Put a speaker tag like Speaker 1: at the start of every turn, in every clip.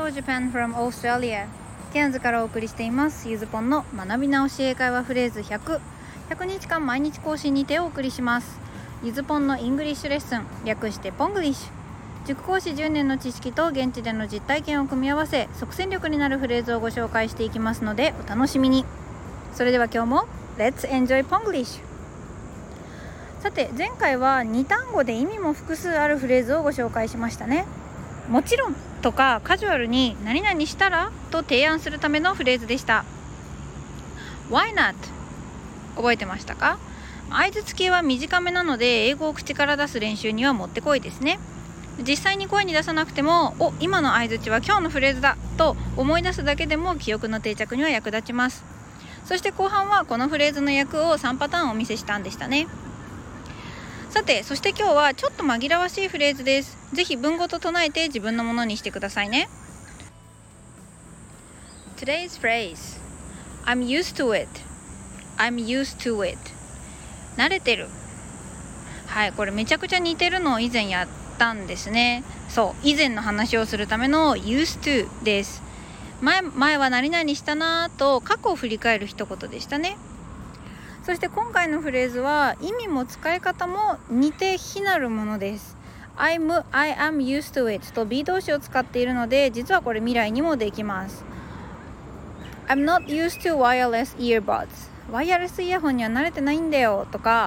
Speaker 1: Hello Japan from Australia。 ケアンズからお送りしていますゆずぽんの学び直し英会話フレーズ100日間毎日更新にてお送りします。ゆずぽんのイングリッシュレッスン、略してポングリッシュ。塾講師10年の知識と現地での実体験を組み合わせ、即戦力になるフレーズをご紹介していきますのでお楽しみに。それでは今日も Let's enjoy Ponglish。 さて前回は2単語で意味も複数あるフレーズをご紹介しましたね。もちろんとかカジュアルに何々したらと提案するためのフレーズでした。 Why not？ 覚えてましたか？相槌系は短めなので英語を口から出す練習にはもってこいですね。実際に声に出さなくても今の相槌は今日のフレーズだと思い出すだけでも記憶の定着には役立ちます。そして後半はこのフレーズの訳を3パターンお見せしたんでしたね。さて、そして今日はちょっと紛らわしいフレーズです。ぜひ文語と唱えて自分のものにしてくださいね。 Today's phrase I'm used to it。 I'm used to it。 慣れてる。はい、これめちゃくちゃ似てるのを以前やったんですね。そう、以前の話をするための used to です。前は何々したなと過去を振り返る一言でしたね。そして今回のフレーズは意味も使い方も似て非なるものです。I am used to it と be 動詞を使っているので、実はこれ未来にもできます。 I'm not used to wireless earbuds。 ワイヤレスイヤホンには慣れてないんだよとか、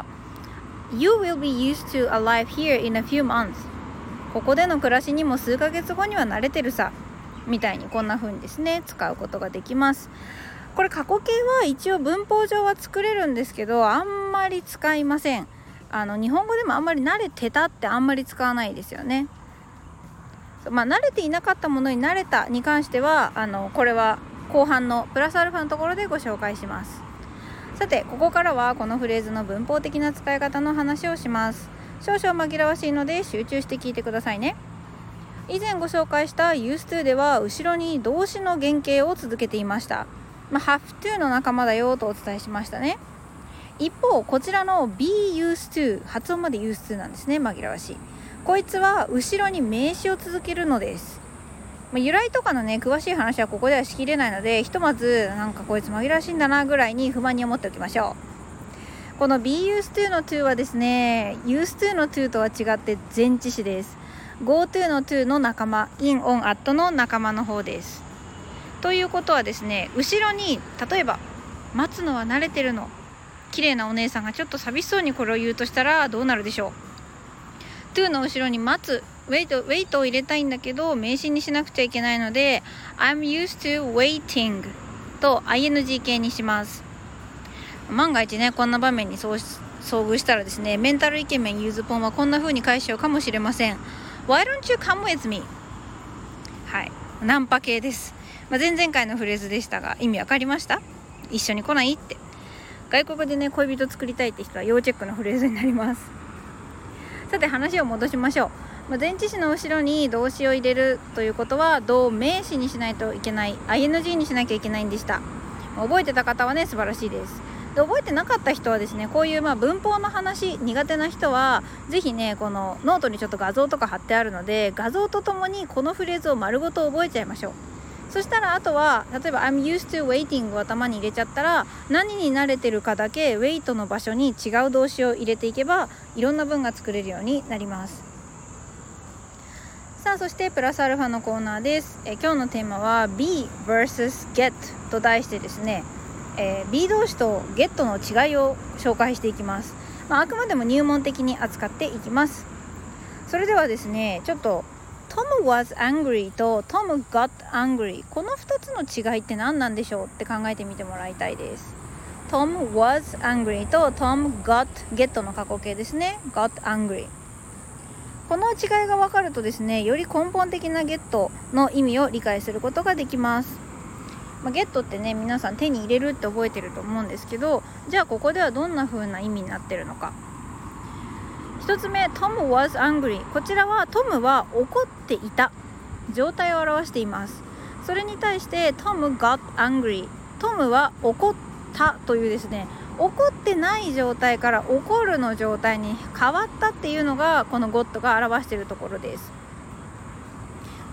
Speaker 1: You will be used to a life here in a few months。 ここでの暮らしにも数ヶ月後には慣れてるさみたいに、こんな風にですね使うことができます。これ過去形は一応文法上は作れるんですけど、あんまり使いません。日本語でもあんまり慣れてたってあんまり使わないですよね。慣れていなかったものに慣れたに関してはこれは後半のプラスアルファのところでご紹介します。さてここからはこのフレーズの文法的な使い方の話をします。少々紛らわしいので集中して聞いてくださいね。以前ご紹介した used to では後ろに動詞の原型を続けていました。have to の仲間だよとお伝えしましたね。一方こちらの be used to、 発音まで used to なんですね。紛らわしい。こいつは後ろに名詞を続けるのです。由来とかのね詳しい話はここではしきれないので、ひとまずなんかこいつ紛らわしいんだなぐらいに不満に思っておきましょう。この be used to の to はですね used to の to とは違って前置詞です。 go to の to の仲間、 in on at の仲間の方です。ということはですね、後ろに例えば待つのは慣れてるの、綺麗なお姉さんがちょっと寂しそうにこれを言うとしたらどうなるでしょう。 to の後ろに待つ、wait を入れたいんだけど名詞にしなくちゃいけないので I'm used to waiting と ing 形にします。万が一ねこんな場面に遭遇したらですね、メンタルイケメンゆずぽんはこんな風に返しちゃうかもしれません。 Why don't you come with me？ はい、ナンパ系です。前々回のフレーズでしたが意味わかりました？一緒に来ないって。外国でね恋人作りたいって人は要チェックのフレーズになります。さて話を戻しましょう。前置詞の後ろに動詞を入れるということは動名詞にしないといけない、 ing にしなきゃいけないんでした。覚えてた方はね素晴らしいです。で覚えてなかった人はですね、こういう文法の話苦手な人はぜひねこのノートにちょっと画像とか貼ってあるので、画像とともにこのフレーズを丸ごと覚えちゃいましょう。そしたらあとは例えば I'm used to waiting を頭に入れちゃったら、何に慣れてるかだけ wait の場所に違う動詞を入れていけばいろんな文が作れるようになります。さあそしてプラスアルファのコーナーです。今日のテーマは be vs get と題してですね、be 動詞と get の違いを紹介していきます。あくまでも入門的に扱っていきます。それではですね、ちょっとTom was angry と Tom got angry、 この2つの違いって何なんでしょうって考えてみてもらいたいです。 Tom was angry と Tom got get の過去形ですね。 got angry、 この違いが分かるとですね、より根本的な get の意味を理解することができます。ゲットってね皆さん手に入れるって覚えてると思うんですけど、じゃあここではどんな風な意味になってるのか。一つ目 Tom was angry、 こちらはトムは怒っていた状態を表しています。それに対して Tom got angry、 トムは怒ったというですね、怒ってない状態から怒るの状態に変わったっていうのがこの got が表しているところです。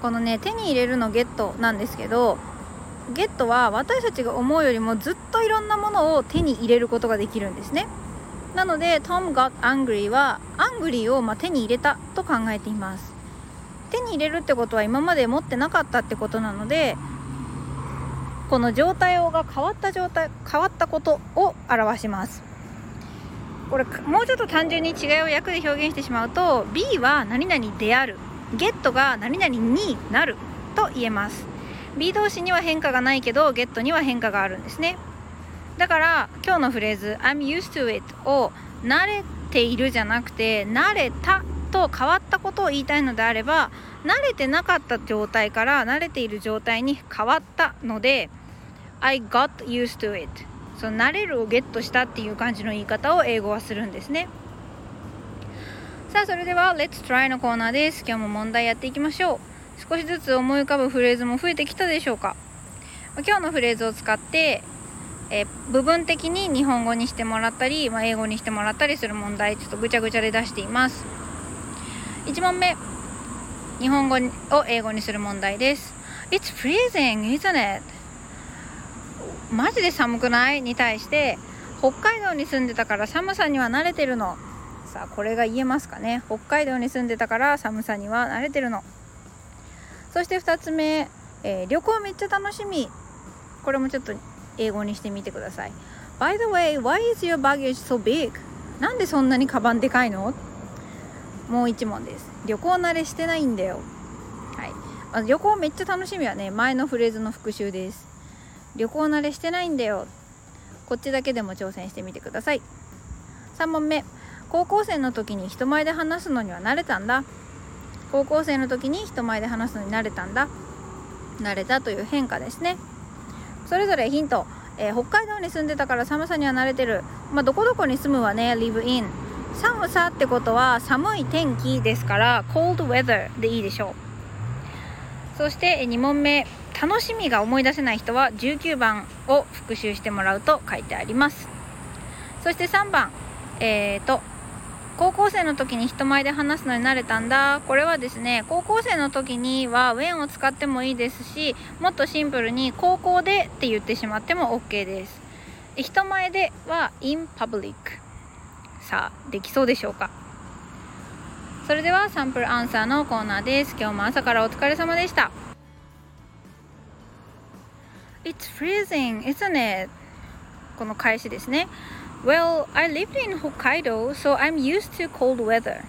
Speaker 1: このね、手に入れるのゲットなんですけど、ゲットは私たちが思うよりもずっといろんなものを手に入れることができるんですね。なので Tom got angry はアングリーを手に入れたと考えています。手に入れるってことは今まで持ってなかったってことなので、この状態が変わったことを表します。これもうちょっと単純に違いを訳で表現してしまうと、 B は何々である、ゲットが何々になると言えます。 B 動詞には変化がないけどゲットには変化があるんですね。だから今日のフレーズ I'm used to it を慣れているじゃなくて慣れたと変わったことを言いたいのであれば、慣れてなかった状態から慣れている状態に変わったので I got used to it、 その慣れるをゲットしたっていう感じの言い方を英語はするんですね。さあそれでは Let's try のコーナーです。今日も問題やっていきましょう。少しずつ思い浮かぶフレーズも増えてきたでしょうか。今日のフレーズを使って部分的に日本語にしてもらったり、英語にしてもらったりする問題、ちょっとぐちゃぐちゃで出しています。1問目、日本語を英語にする問題です。 It's freezing, isn't it? マジで寒くない？に対して北海道に住んでたから寒さには慣れてるの。さあこれが言えますかね。北海道に住んでたから寒さには慣れてるの。そして2つ目、旅行めっちゃ楽しみ。これもちょっと英語にしてみてください。 By the way, why is your baggage so big? なんでそんなにカバンでかいの？もう1問です。旅行慣れしてないんだよ。はい、旅行めっちゃ楽しみはね、前のフレーズの復習です。旅行慣れしてないんだよ。こっちだけでも挑戦してみてください。3問目、高校生の時に人前で話すのには慣れたんだ。高校生の時に人前で話すのに慣れたんだ。慣れたという変化ですね。それぞれヒント、北海道に住んでたから寒さには慣れてる。どこどこに住むはね live in。 寒さってことは寒い天気ですから cold weather でいいでしょう。そして2問目、楽しみが思い出せない人は19番を復習してもらうと書いてあります。そして3番、高校生の時に人前で話すのに慣れたんだ。これはですね、高校生の時には when を使ってもいいですし、もっとシンプルに高校でって言ってしまっても OK です。人前では in public。 さあできそうでしょうか。それではサンプルアンサーのコーナーです。今日も朝からお疲れ様でした。 It's freezing, isn't it? この返しですね。Well, I lived in Hokkaido, so I'm used to cold weather.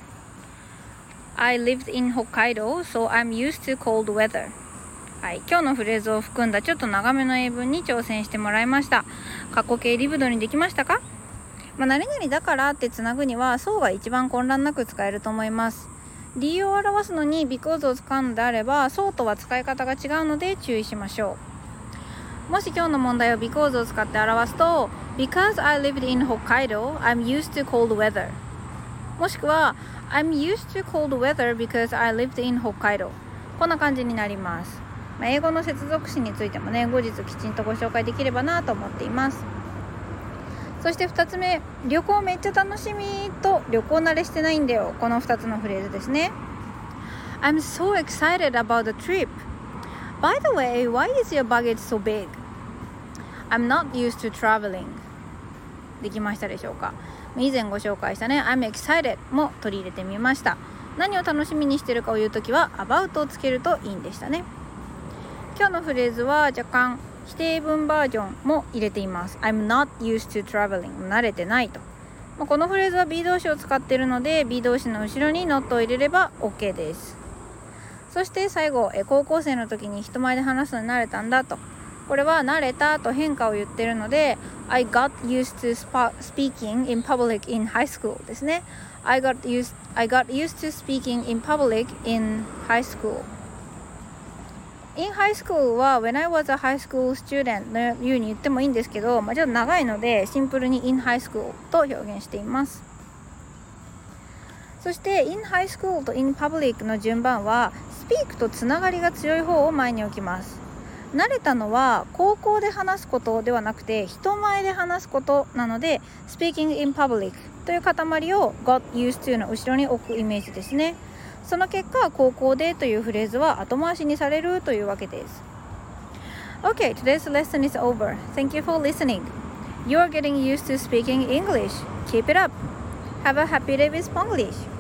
Speaker 1: I lived in Hokkaido, so I'm used to cold weather. はい、今日のフレーズを含んだちょっと長めの英文に挑戦してもらいました。過去形リブドにできましたか？何々だからってつなぐにはそうが一番混乱なく使えると思います。理由を表すのに because を使うのであればそうとは使い方が違うので注意しましょう。もし今日の問題を because を使って表すと Because I lived in Hokkaido, I'm used to cold weather。 もしくは I'm used to cold weather because I lived in Hokkaido。 こんな感じになります。英語の接続詞についてもね、後日きちんとご紹介できればなと思っています。そして2つ目、旅行めっちゃ楽しみと旅行慣れしてないんだよ。この2つのフレーズですね。 I'm so excited about the trip. By the way, why is your baggage so big? I'm not used to traveling。 できましたでしょうか。以前ご紹介したね I'm excited も取り入れてみました。何を楽しみにしてるかを言うときは about をつけるといいんでしたね。今日のフレーズは若干否定文バージョンも入れています。 I'm not used to traveling。 慣れてないと。このフレーズは B 動詞を使っているので B 動詞の後ろに not を入れれば OK です。そして最後、高校生の時に人前で話すのに慣れたんだと。これは慣れたと変化を言ってるので I got used to speaking in public in high school ですね。 I got used to speaking in public in high school。 in high school は when I was a high school student のように言ってもいいんですけど、ちょっと長いのでシンプルに in high school と表現しています。そして in high school と in public の順番は speak とつながりが強い方を前に置きます。慣れたのは高校で話すことではなくて人前で話すことなので speaking in public という塊を got used to の後ろに置くイメージですね。 その結果、高校でというフレーズは後回しにされるというわけです。Okay, today's lesson is over. Thank you for listening. You are getting used to speaking English. Keep it up. Have a happy day with Spanglish.